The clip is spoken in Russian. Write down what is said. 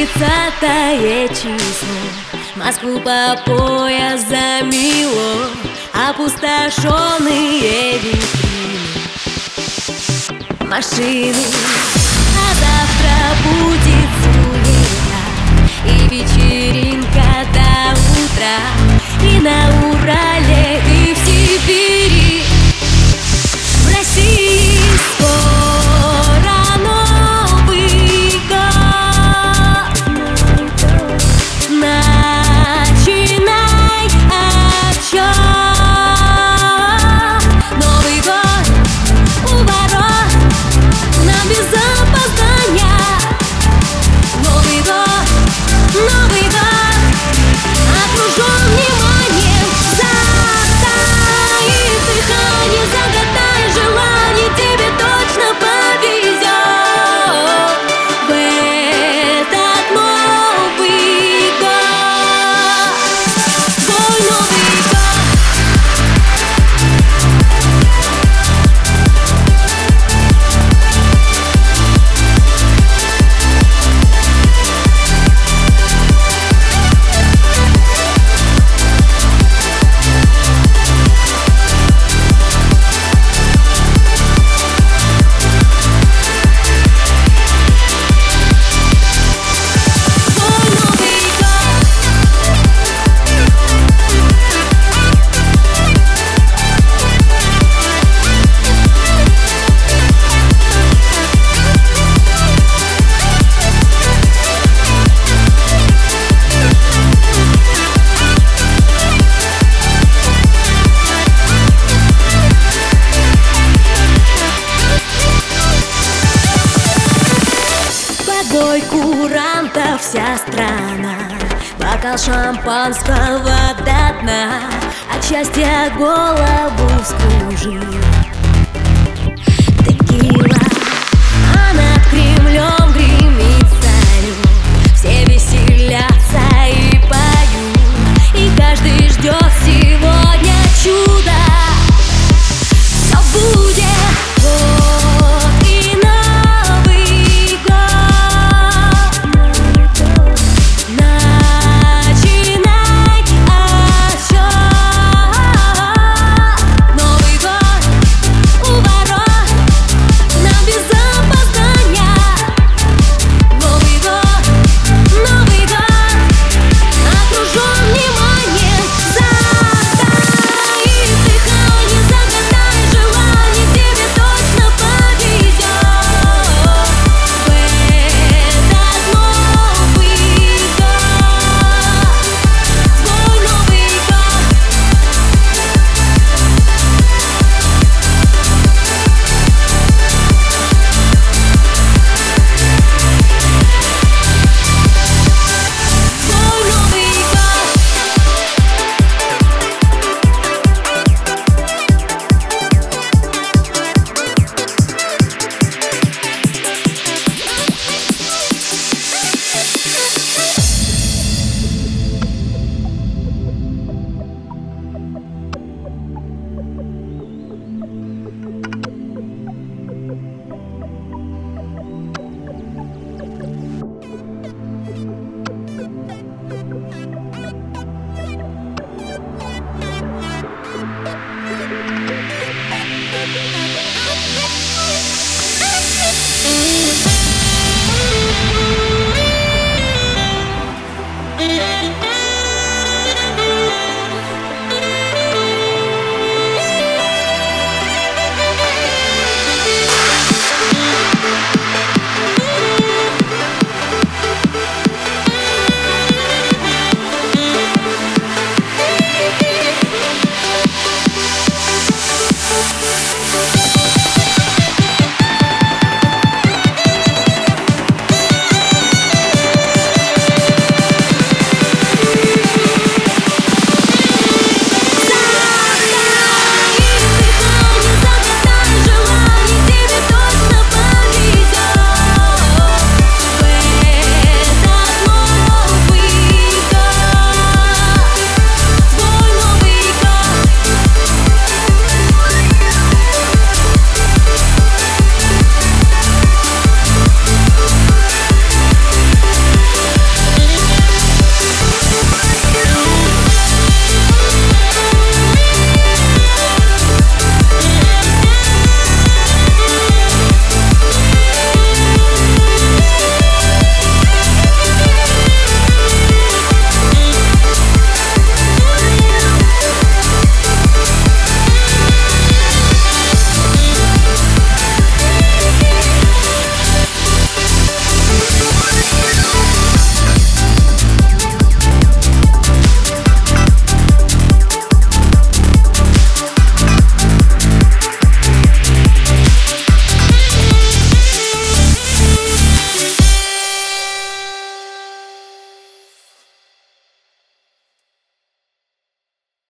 30-е число, Москву по пояс замело, опустошенные витрины, машины. А завтра будет суета и вечеринка до утра, и на Урале, и в Сибири, в России скоро Новый год. Начинай отсчет. Новый год у ворот, нам без опоздания. Новый год, Новый год, окружен вниманием. Затаив дыхание, загадай желание, тебе точно повезет в этот Новый год. Твой Новый год. Бой курантов вся страна, бокал шампанского до дна, от счастья голову вскружил текила, а над Кремлем гремит салют. Все веселятся и поют, и каждый ждет сегодня чуда. Все будет вот и Новый год. Начинай отсчет. Новый год у ворот, нам без опоздания. Новый год, Новый год, окружен вниманием. Затаив дыхание, загадай желание, тебе точно повезет в этот Новый год. Твой Новый год. Твой Новый год. Yeah.